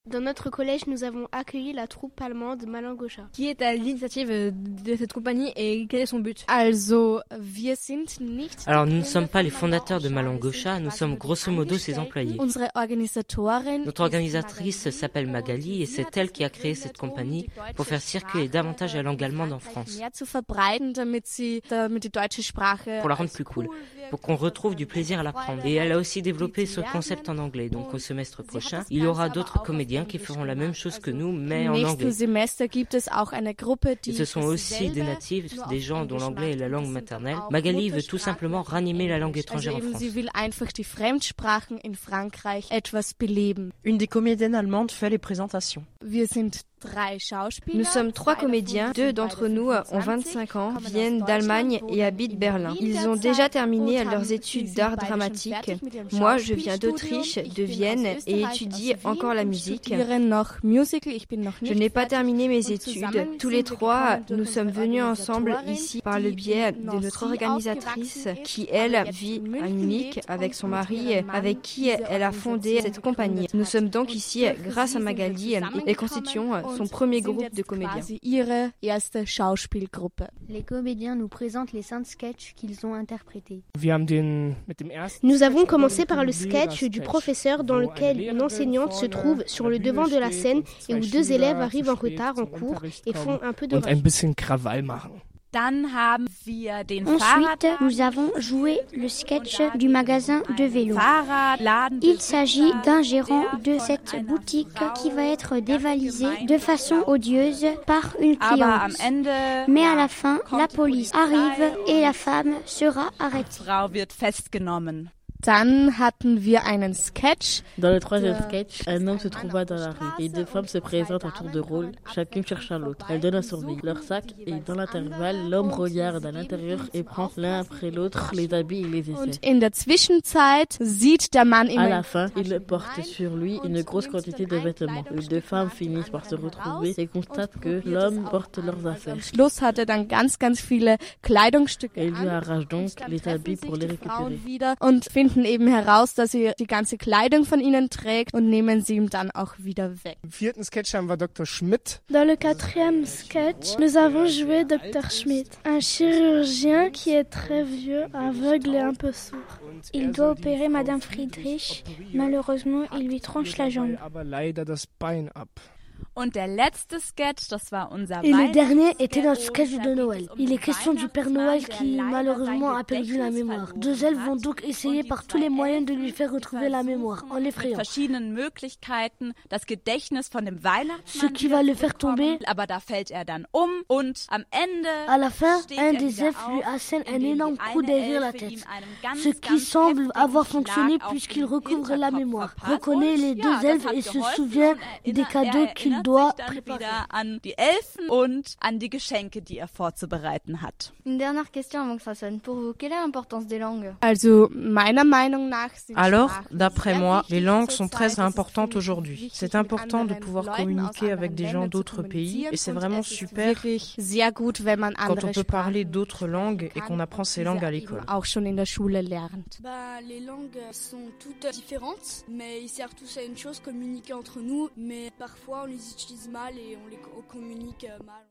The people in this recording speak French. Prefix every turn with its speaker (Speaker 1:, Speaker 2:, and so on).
Speaker 1: Dans notre collège, nous avons accueilli la troupe allemande Malangoscha.
Speaker 2: Qui est à l'initiative de cette compagnie et quel est son but?
Speaker 1: Alors, nous
Speaker 3: ne sommes pas les fondateurs de Malangoscha, nous sommes grosso modo ses employés. Notre organisatrice s'appelle Magali et c'est elle qui a créé cette compagnie pour faire circuler davantage la langue allemande en France. Pour la rendre plus cool, pour qu'on retrouve du plaisir à l'apprendre. Et elle a aussi développé ce concept en anglais, donc au semestre prochain, il y aura d'autres comédiens qui feront la même chose que nous, mais en anglais. Et ce sont aussi des natifs, des gens dont l'anglais est la langue maternelle. Magali veut tout simplement ranimer la langue étrangère en France.
Speaker 4: Une des comédiennes allemandes fait les présentations.
Speaker 2: Nous sommes 3 comédiens, 2 d'entre nous ont 25 ans, viennent d'Allemagne et habitent Berlin. Ils ont déjà terminé leurs études d'art dramatique. Moi, je viens d'Autriche, de Vienne et étudie encore la musique. Je n'ai pas terminé mes études. Tous les 3, nous sommes venus ensemble ici par le biais de notre organisatrice qui, elle, vit à Munich avec son mari, avec qui elle a fondé cette compagnie. Nous sommes donc ici grâce à Magali et constituons son premier groupe de comédiens.
Speaker 5: Les comédiens nous présentent les 5 sketchs qu'ils ont interprétés.
Speaker 1: Nous avons commencé par le sketch du professeur dans lequel une enseignante se trouve sur le devant de la scène et où 2 élèves arrivent en retard en cours et font un peu de
Speaker 6: Ensuite, nous avons joué le sketch du magasin de vélo. Il s'agit d'un gérant de cette boutique qui va être dévalisé de façon odieuse par une cliente. Mais à la fin, la police arrive et la femme sera arrêtée.
Speaker 7: Dann hatten wir einen Sketch.
Speaker 8: Dans le troisième sketch, un homme se trouva dans la rue et 2 femmes se présentent à tour de rôle, chacune cherche à l'autre. Elles donnent à surveiller leur sac et dans l'intervalle, l'homme regarde à l'intérieur et prend l'un après l'autre les habits et les
Speaker 7: Und
Speaker 8: essaie.
Speaker 7: in der Zwischenzeit sieht der Mann
Speaker 8: À
Speaker 7: immer
Speaker 8: la fin, il porte sur lui une grosse quantité de vêtements. Les 2 femmes finissent par se retrouver et constatent que l'homme porte leurs affaires.
Speaker 7: Schluss hatte dann ganz viele Kleidungsstücke
Speaker 8: Elle lui arrache donc les habits pour les récupérer.
Speaker 7: wieder und finden eben heraus, dass sie die ganze Kleidung von ihnen trägt und nehmen sie ihm dann auch wieder weg.
Speaker 9: Im 4. Sketch haben wir Dr. Schmidt.
Speaker 10: Dans le 4e sketch, nous avons joué Dr. Schmidt, un chirurgien qui est très vieux, aveugle et un peu sourd. Il doit opérer Madame Friedrich. Malheureusement, il lui tranche la jambe.
Speaker 9: Aber leider das Bein ab.
Speaker 11: Und der letzte Sketch, das war unser
Speaker 12: Et le dernier était notre sketch de Noël. Il est question du Père Noël qui malheureusement a perdu la mémoire. 2 elfes vont donc essayer par tous les moyens de lui faire retrouver la mémoire, en l'effrayant.
Speaker 11: Verschiedenen Möglichkeiten das Gedächtnis von dem Weihnachtsmann.
Speaker 12: Ce qui va le faire tomber.
Speaker 11: Aber da fällt er dann und am Ende.
Speaker 12: À la fin, un des elfes lui assène un énorme coup derrière la tête. Ce qui semble avoir fonctionné puisqu'il recouvre la mémoire, reconnaît les 2 elfes et se souvient des cadeaux qu'il doit
Speaker 11: wieder an die Elfen und an die Geschenke, die er vorzubereiten hat.
Speaker 2: Une dernière question avant que ça sonne. Pour vous, quelle est l'importance des langues?
Speaker 7: Also, meiner Meinung nach
Speaker 4: Alors, d'après moi, les langues sont très importantes aujourd'hui. C'est important de pouvoir communiquer avec des gens d'autres pays et c'est vraiment super quand on peut parler d'autres langues et qu'on apprend ces langues à l'école.
Speaker 10: Les langues sont toutes différentes, mais ils servent tous à une chose, communiquer entre nous, mais parfois on les utilise mal et on les communique mal.